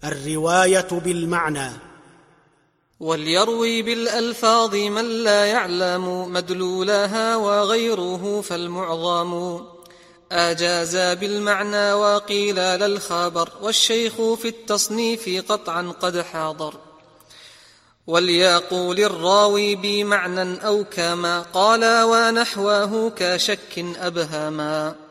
الرواية بالمعنى. وليروي بالألفاظ من لا يعلم مدلولها وغيره فالمعظم أجاز بالمعنى وقيل للخبر والشيخ في التصنيف قطعا قد حاضر. وليقول الراوي بمعنى أو كما قال ونحوه كشك أبهما.